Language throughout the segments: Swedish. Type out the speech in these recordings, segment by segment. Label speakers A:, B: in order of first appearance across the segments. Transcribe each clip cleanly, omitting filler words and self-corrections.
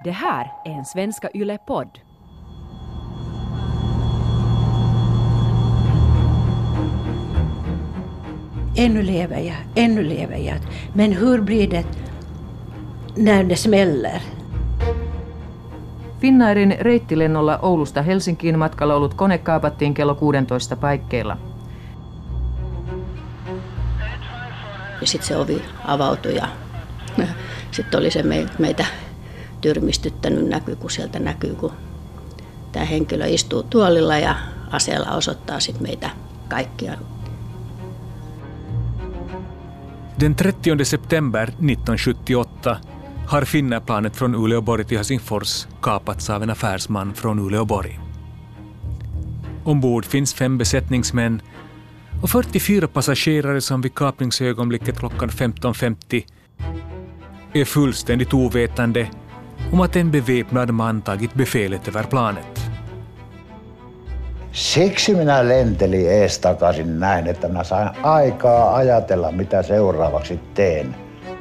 A: Det här är en Svenska Yle-podd.
B: Ännu lever jag. Men hur blir det när det smäller?
C: Finnairin reittilennolla Oulusta Helsinkiin matkalla ollut kone kaapattiin kello 16 paikkeilla.
B: Sitten se ovi avautui ja sitten oli se meitä tyrmistyttänyt näky, kun sieltä näkyy, kun tämä henkilö istuu tuolilla ja aseella osoittaa sitten meitä kaikkia.
D: Den 30 september 1978 har Finnairplanet från Uleåborg till Helsingfors kapats av en affärsman från Uleåborg. Ombord finns 5 besättningsmän och 44 passagerare som vid kapningsögonblicket klockan 15.50 är fullständigt ovetande om att en beväpnad man tagit befälet över planet.
E: Siksi minä lentelin ees takaisin näin, että minä sain aikaa ajatella, mitä seuraavaksi teen.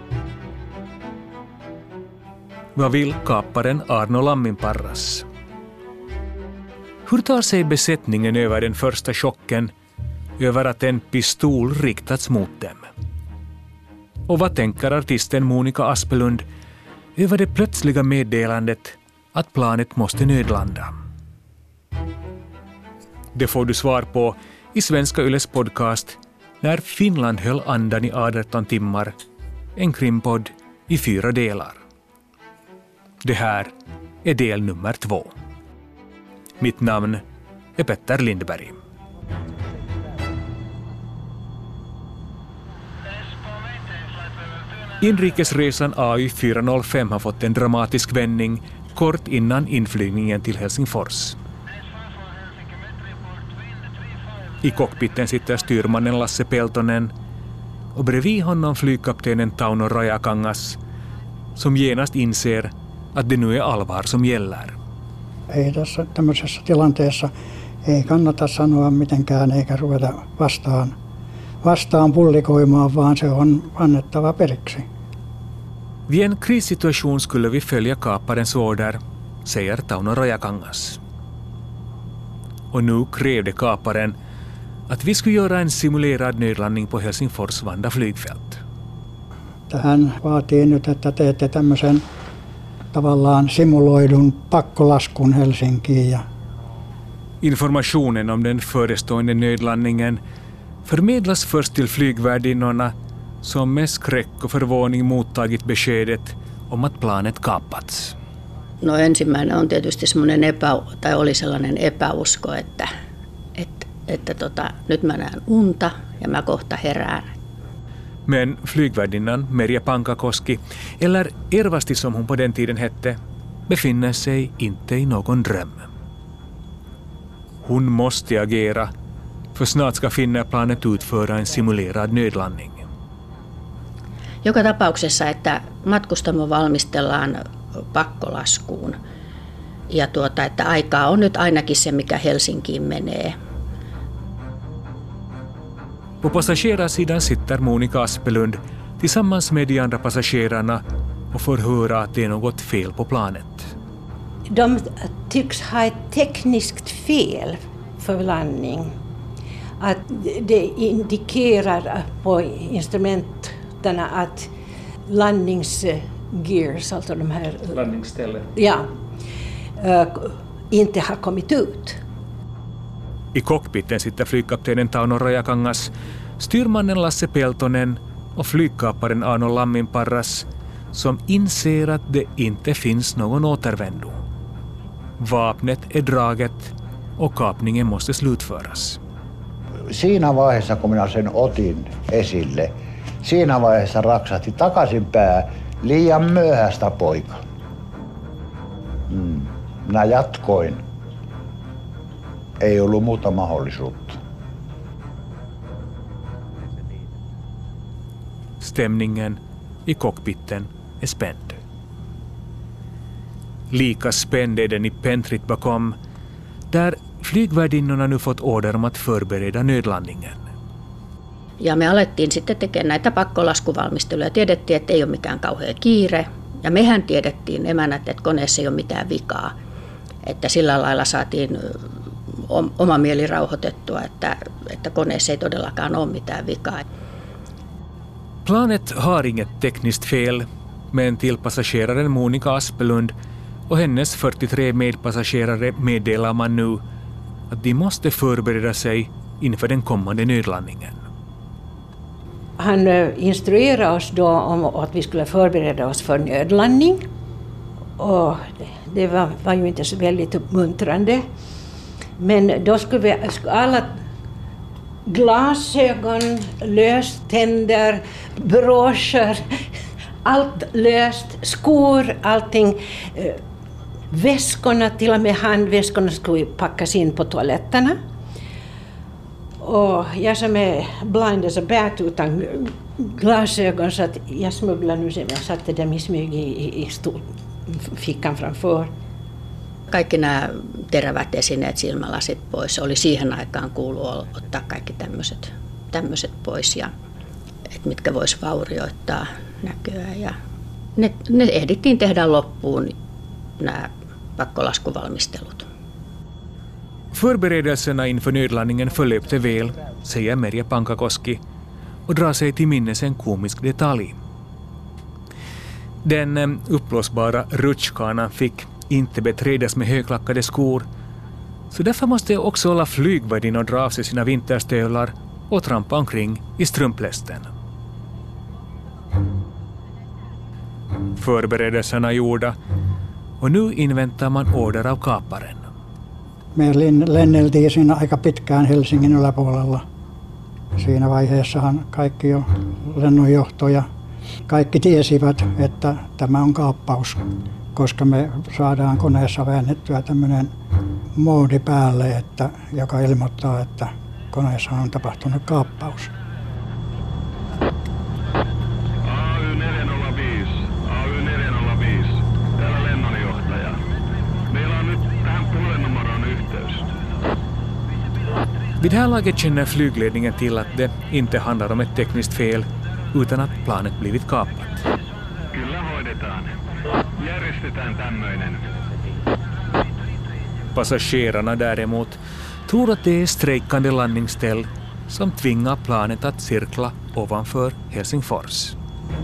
D: Vad vill kaparen Arno Lamminparras? Hur tar sig besättningen över den första chocken över att en pistol riktats mot dem? Och vad tänker artisten Monica Aspelund över det plötsliga meddelandet att planet måste nödlanda? Det får du svar på i Svenska Yles podcast När Finland höll andan i 18 timmar, en krimpodd i 4 delar. Det här är del nummer 2. Mitt namn är Petter Lindberg. Inrikesresan AY405 har fått en dramatisk vändning kort innan inflygningen till Helsingfors. I cockpiten sitter styrmannen Lasse Peltonen och bredvid honom flygkaptenen Tauno Rajakangas som genast inser att det nu är allvar som gäller.
F: Ei tässä tämmöisessä tilanteessa ei kannata sanoa mitenkään eikä ruveta vastaan pullikoimaan, vaan se on annettava periksi.
D: Vid en krissituation skulle vi följa kaparens order, säger Tauno Rajakangas. Och nu krävde kaparen att vi skulle göra en simulerad nödlandning på Helsingfors Vanda flygfält.
F: Tähän vaatii nyt, että teette tämmöisen tavallaan simuloidun pakkolaskun Helsinkiin.
D: Informationen om den förestående nödlandningen förmedlas först till flygvärdinnorna som med skräck och förvåning mottagit beskedet om att planet kapats.
B: No ensimmäinen on tietysti semmoinen oli sellainen epäusko, että nyt mä näen unta ja mä kohta herään.
D: Men flygvärdinnan Merja Pankakoski, eller Ervasti som hon på den tiden hette, befinner sig inte i någon dröm. Hon måste agera, för snart ska Finnairplanet utföra en simulerad nödlandning.
B: Joka tapauksessa, että matkustamo valmistellaan pakkolaskuun ja että aikaa on nyt ainakin se, mikä Helsinkiin menee.
D: På passagerarsidan sitter Monica Aspelund tillsammans med de andra passagerarna och får höra att det är något fel på planet.
B: De tycks ha ett tekniskt fel för landning. Att det indikerar på instrumenten att landningsgears, alltså de här
D: landningsställen,
B: inte har kommit ut.
D: I cockpiten sitter flygkaptenen Tauno Rajakangas, styrmannen Lasse Peltonen och flygkaparen Arno Lamminparras som inser att det inte finns någon återvändo. Vapnet är draget och kapningen måste slutföras.
E: Siinä vaiheessa, kun minä sen otin esille, siinä vaiheessa raksahti takaisinpäin liian myöhäistä poika. Minä jatkoin. Ei ollut muuta mahdollisuutta.
D: Stämningen i cockpiten är spänd. Lika spänd är den i pentrit bakom, där flygvärdinnorna nu fått order om att förbereda nödlandningen.
B: Ja me alettiin sitten tekemään näitä pakkolaskuvalmisteluja. Tiedettiin, että ei ole mikään kauhea kiire. Ja mehän tiedettiin emänät, että koneessa ei ole mitään vikaa. Että sillä lailla saatiin oma mieli rauhoitettua, että koneessa ei todellakaan ole mitään vikaa.
D: Planet har inget tekniskt fel, men till passageraren Monica Aspelund och hennes 43 medpassagerare meddelar man nu att de måste förbereda sig inför den kommande nödlandningen.
G: Han instruerade oss då om att vi skulle förbereda oss för nödlandning. Och det var ju inte så väldigt uppmuntrande. Men då skulle vi alla glasögon, löständer, broscher, allt löst, skor, allting. Väskorna, till och med handväskorna skulle packas in på toaletterna. Och jag som är blind as a bat utan glasögon så att jag smugglade nu sen, jag satte dem i smyg i fickan framför.
B: Kaikki nämä terävät esineet, silmälasit pois. Oli siihen aikaan kuulu ottaa kaikki tämmöiset pois, ja, et mitkä vois vaurioittaa näköä. Ja ne ehdittiin tehdä loppuun, nämä pakkolaskuvalmistelut.
D: Förberedelserna inför nödlandningen förlöpte väl, säger Merja Pankakoski och drar sig till minnes en komisk detalj. Den uppblåsbara rutschkanan fick inte beträdas med högklackade skor, så därför måste också alla flygvärdinnor dra av sig sina vinterstövlar och trampa omkring i strumplästen. Förberedelserna gjorda, och nu inväntar man order av kaparen.
F: Me lenneltiin siinä aika pitkään Helsingin yläpuolella. Siinä vaiheessahan kaikki jo lennonjohto ja kaikki tiesivät, että tämä on kaappaus, koska me saadaan koneessa väännettyä tämmöinen moodi päälle, joka ilmoittaa, että koneessa on tapahtunut kaappaus.
H: AY405, täällä lennonjohtaja. Meillä on nyt tähän puhelinnumeroon yhteys.
D: Vid det här laget känner flygledningen till att det inte handlar om ett tekniskt fel utan att planet blivit kapat.
H: Kyllä hoidetaan. Järjestetään tämmöinen.
D: Passagerarna däremot tror att det är strejkande landningsställ som tvingar planet att cirkla ovanför Helsingfors.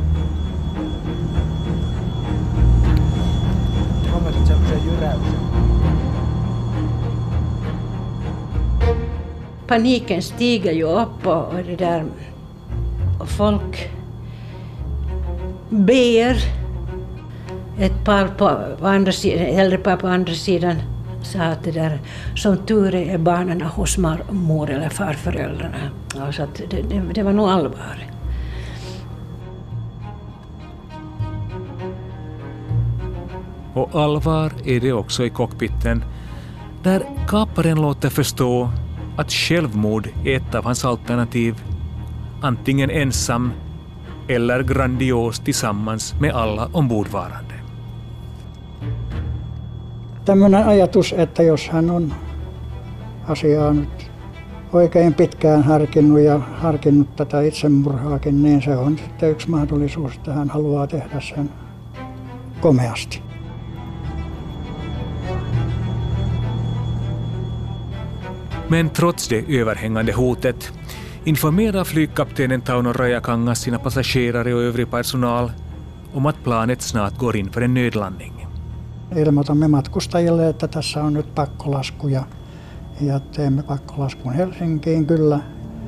G: Paniken stiger ju upp och det där folk ber. Ett par på andra sidan, äldre par på andra sidan sa att det där, som tur är barnen hos mor eller farföräldrarna. Så att det var nog allvar.
D: Och allvar är det också i cockpiten, där kaparen låter förstå att självmord är ett av hans alternativ, antingen ensam eller grandios tillsammans med alla ombordvarande.
F: Tämmöinen ajatus, että jos hän on asiaa nyt oikein pitkään harkinnut tätä itsemurhaakin, niin se on sitten yksi mahdollisuus, että hän haluaa tehdä sen komeasti.
D: Men trots det överhängande hotet informerar flygkaptenen Tauno Rajakangas sina passagerare och övrig personal om att planet snart går in för en nödlandning.
F: Ilmoitamme matkustajille, että tässä on nyt pakkolasku ja teemme pakkolaskun Helsinkiin kyllä.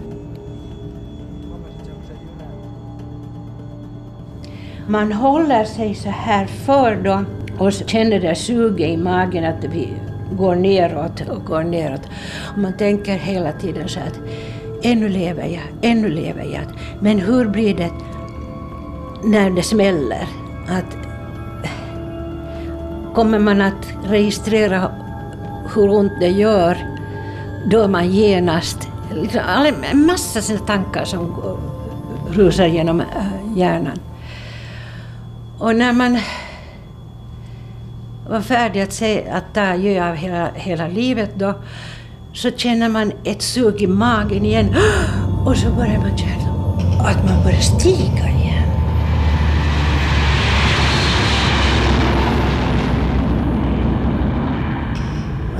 G: Man håller sig så här för då och känner det suget i magen att vi går neråt och går neråt. Och man tänker hela tiden så att ännu lever jag. Men hur blir det när det smäller? Kommer man att registrera hur ont det gör, då är man genast, en massa sådana tankar som rusar genom hjärnan. Och när man var färdig att ta adjö av hela livet då, så känner man ett sug i magen igen och så börjar man känna att man börjar stiga igen.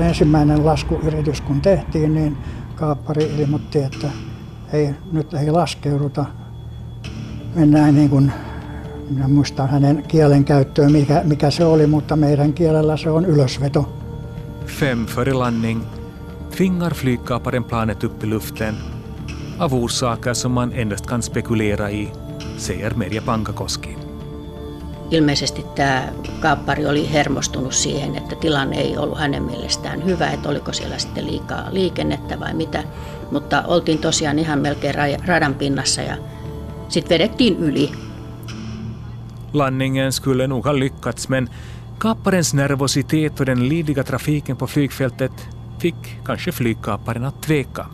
F: ensimmäinen laskuyritys kun tehtiin, niin kaappari ilmoitti, että nyt ei laskeuduta. Mennään niin kuin, minä muistan hänen kielen käyttöön, mikä se oli, mutta meidän kielellä se on ylösveto.
D: 5 före landning tvingar flygkaparen planet upp i luften av orsaker som man endast kan spekulera i, säger Merja Pankakoski.
B: Ilmeisesti tämä kaappari oli hermostunut siihen, että tilanne ei ollut hänen mielestään hyvä, että oliko siellä sitten liikaa liikennettä vai mitä. Mutta oltiin tosiaan ihan melkein radan pinnassa ja sitten vedettiin yli.
D: Landningen skulle nog ha lyckats, men kapparens nervositet och den livliga trafiken på flygfältet fick kanske flygkaparen att tveka.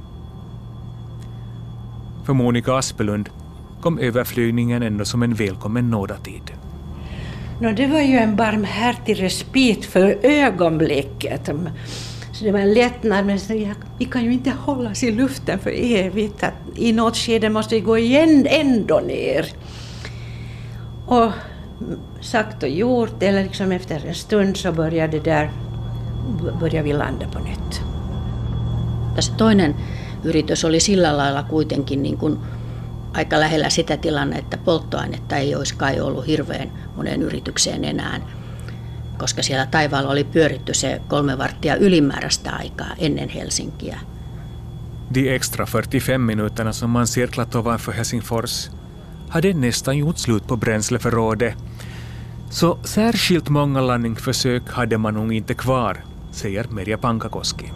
D: För Monica Aspelund kom överflygningen ändå som en välkommen nådatid.
G: Det var ju en barmhärtig respit för ögonblicket. Så det var en lättnad, men vi kan ju inte hållas i luften för evigt. Att i något skede måste vi gå igen ändå ner. Och sagt och gjort, eller liksom efter en stund så började vi landa på nytt.
B: Se toinen yritys oli sillä lailla kuitenkin niin kuin aika lähellä sitä tilannetta, että polttoainetta ei olisi kai ollut hirveän moneen yritykseen enää, koska siellä taivaalla oli pyöritty se 3 varttia ylimääräistä aikaa ennen Helsinkiä.
D: De extra 45 minuterna som man cirklat ovanför Helsingfors hade nästan gjort slut på bränsleförrådet, så särskilt många landningsförsök hade man nog inte kvar, säger Merja Pankakoski.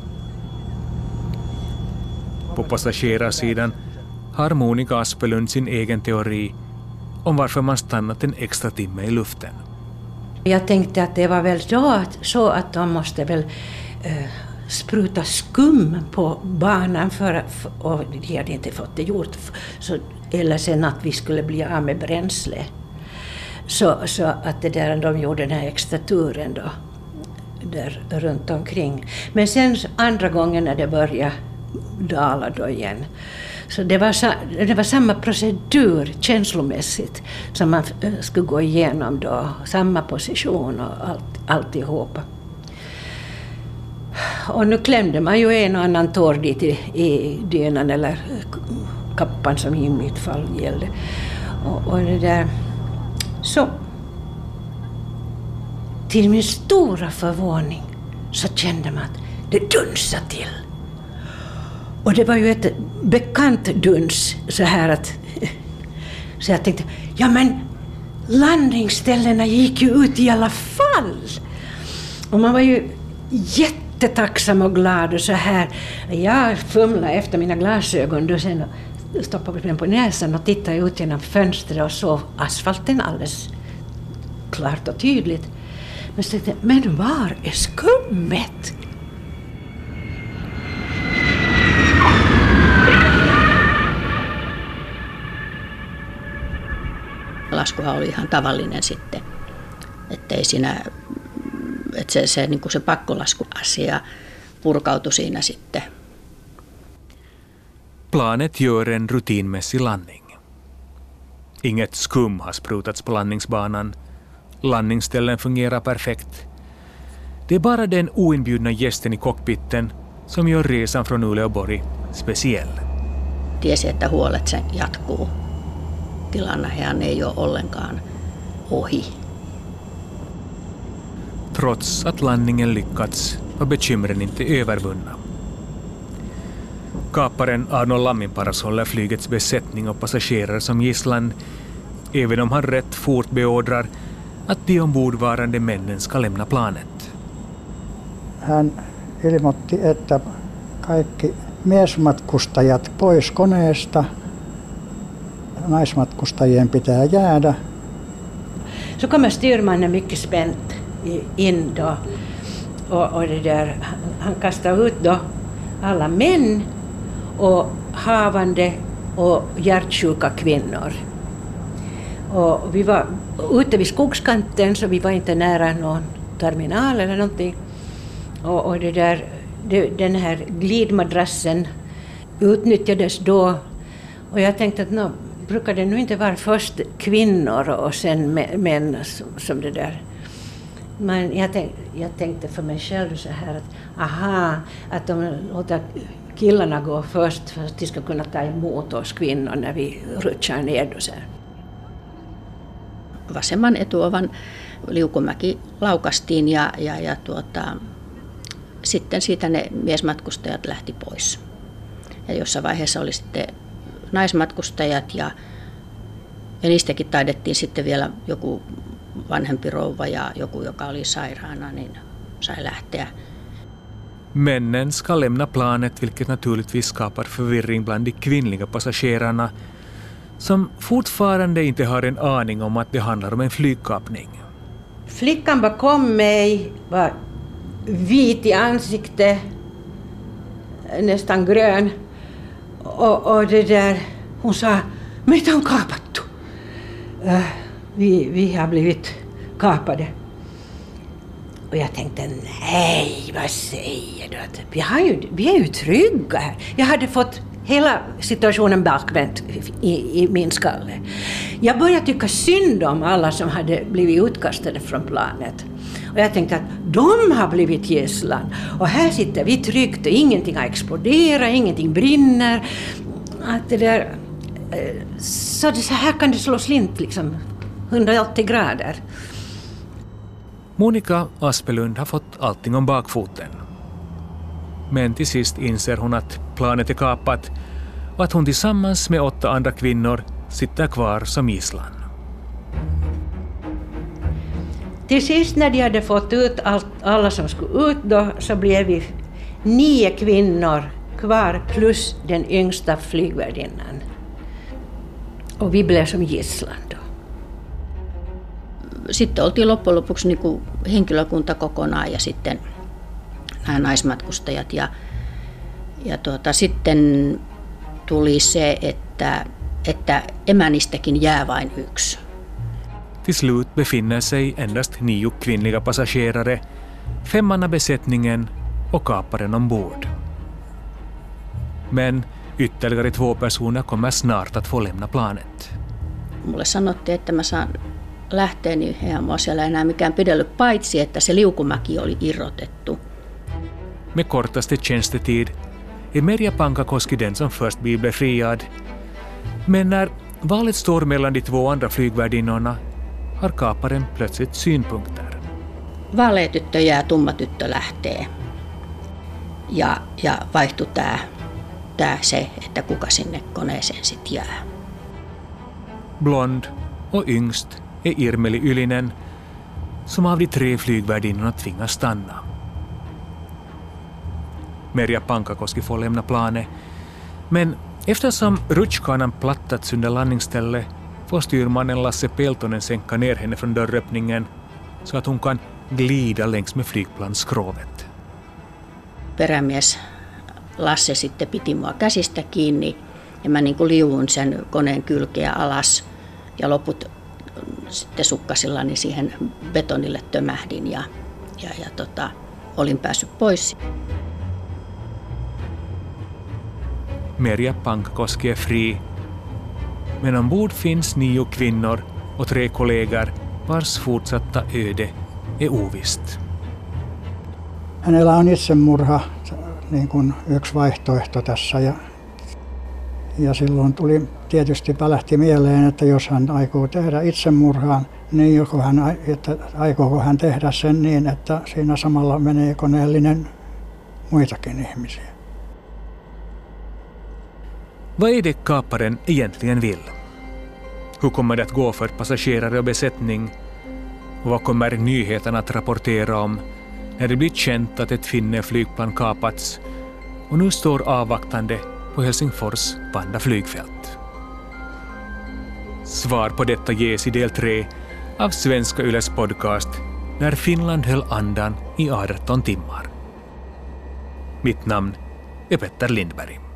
D: På passagerarsidan har Monica Aspelund sin egen teori om varför man stannat en extra timme i luften.
G: Jag tänkte att det var väl så att de måste väl spruta skum på banan och de hade inte fått det gjort. Eller sen att vi skulle bli av med bränsle. Så att de gjorde den här extra turen då, där runt omkring. Men sen andra gången när det började dala då igen. Så det var samma procedur känslomässigt som man skulle gå igenom då. Samma position och alltihopa. Och nu klämde man ju en och annan tår dit i dynan eller kappan som i mitt fall gällde. Och det där. Så till min stora förvåning så kände man att det dunsade till. Och det var ju ett bekant duns så här att så jag tänkte, ja men landningsställena gick ju ut i alla fall. Och man var ju jättetacksam och glad och så här. Jag fumlade efter mina glasögon då sen stoppade den på näsan och tittade ut genom fönstret och såg asfalten alldeles klart och tydligt. Men så tänkte jag, men var är skummet?
B: Laskuhan oli ihan tavallinen sitten, ettei siinä, että se, niin kuin se pakkolaskuasia purkautui siinä sitten.
D: Planet gör en rutinmässig landning. Inget skum har sprutats på landningsbanan. Landningsställen fungerar perfekt. Det är bara den oinbjudna gästen i cockpiten som gör resan från Uleåborg speciell.
B: Tiesi, että huolet sen jatkuu. Tilannehan ei ole ollenkaan ohi.
D: Trots att landningen lyckats var bekymren inte övervunna. Kaparen Arnold Lamminparas håller flygets besättning och passagerare som gisslan, även om han rätt fort beordrar att de ombordvarande männen ska lämna planet.
F: Hän ilmoitti, että kaikki miesmatkustajat pois koneesta. Naismatkustajien pitää jäädä.
G: Så kommer styrmannen mycket spänt in då och det där, han kastar ut då alla män och havande och hjärtsjuka kvinnor. Och vi var ute vid skogskanten så vi var inte nära någon terminal eller någonting. Och det där, den här glidmadrassen utnyttjades då och jag tänkte att brukar det nu inte vara först kvinnor och sen män som det där Men jag tänkte för mig själv så här att de låter killarna gå först för att de ska kunna ta emot oss kvinnor när vi rutschar ner då så här.
B: Vasemman etuovan liukumäki laukastiin ja sitten siitä ne miesmatkustajat lähti pois. Ja jossain vaiheessa oli sitten naismatkustajat ja niistäkin taidettiin sitten vielä joku vanhempi rouva ja joku, joka oli sairaana, niin sai lähteä.
D: Männen ska lämna planet, vilket naturligtvis skapar förvirring bland de kvinnliga passagerarna som fortfarande inte har en aning om att det handlar om en flygkapning.
G: Flickan bakom mig var vit i ansiktet, nästan grön. Och det där, hon sa, meitä on kaapattu. Vi har blivit kapade. Och jag tänkte, nej, vad säger du? Vi är ju trygga här. Jag hade fått hela situationen bakvänt i min skalle. Jag började tycka synd om alla som hade blivit utkastade från planet. Och jag tänkte att de har blivit gisslan. Och här sitter vi tryggt och ingenting har exploderat, ingenting brinner. Att det där, så här kan det slå slint liksom 180 grader.
D: Monica Aspelund har fått allting om bakfoten. Men till sist inser hon att planet är kapat och att hon tillsammans med 8 andra kvinnor sitter kvar som gisslan.
G: Till sist när de hade fått ut alla som skulle ut då, så blev vi 9 kvinnor kvar plus den yngsta flygvärdinnan. Och vi blev som gisslan då.
B: Sitten oltiin loppujen lopuksi niin kuin henkilökunta kokonaan ja sitten nämä naismatkustajat. Ja sitten tuli se, että emänistäkin jää vain yksi.
D: Till slut befinner sig endast 9 kvinnliga passagerare, 5 besättningen och kaparen ombord. Men ytterligare 2 personer kommer snart att få lämna planet.
B: Mulle sanottiin, että mä saan lähteä, niin eihän mua siellä enää mikään pidellyt, paitsi että se liukumäki oli irrotettu.
D: Med kortaste tjänstetid är Merja Pankakoski den som först blir friad. Men när valet står mellan de 2 andra flygvärdinnorna har kaparen plötsligt synpunkter.
B: Vaalea tyttö jää, tumma tyttö lähtee. Ja vaihtui tää se, että kuka sinne koneeseen sit jää.
D: Blond och yngst är Irmeli Ylinen, som av de 3 flygvärdinnorna tvingas stanna. Merja Pankakoski får lämna planet, men eftersom rutschkanan plattats under landningsstället får styrmannen Lasse Peltonen sänka ner henne från dörröppningen så att hon kan glida längs med flygplansskrovet.
B: Perämies Lasse sitten piti mua käsistä kiinni ja mä niin kuin liuun sen koneen kylkeä alas ja loput sitten sukkasillani siihen betonille tömähdin ja olin päässyt pois.
D: Merja Pankakoski är fri, men ombord finns 9 kvinnor och 3 kollegor vars fortsatta öde är ovisst.
F: Hänellä on itsemurha niin kuin yksi vaihtoehto tässä ja silloin tietysti välähti mieleen, että jos hän aikoo tehdä itsemurhaan, niin aikooko hän tehdä sen niin, että siinä samalla menee koneellinen muitakin ihmisiä.
D: Vad är det kaparen egentligen vill? Hur kommer det att gå för passagerare och besättning? Och vad kommer nyheterna att rapportera om när det blir känt att ett Finnair-flygplan kapats och nu står avvaktande på Helsingfors Vanda flygfält? Svar på detta ges i del 3 av Svenska Yles podcast När Finland höll andan i 18 timmar. Mitt namn är Petter Lindberg.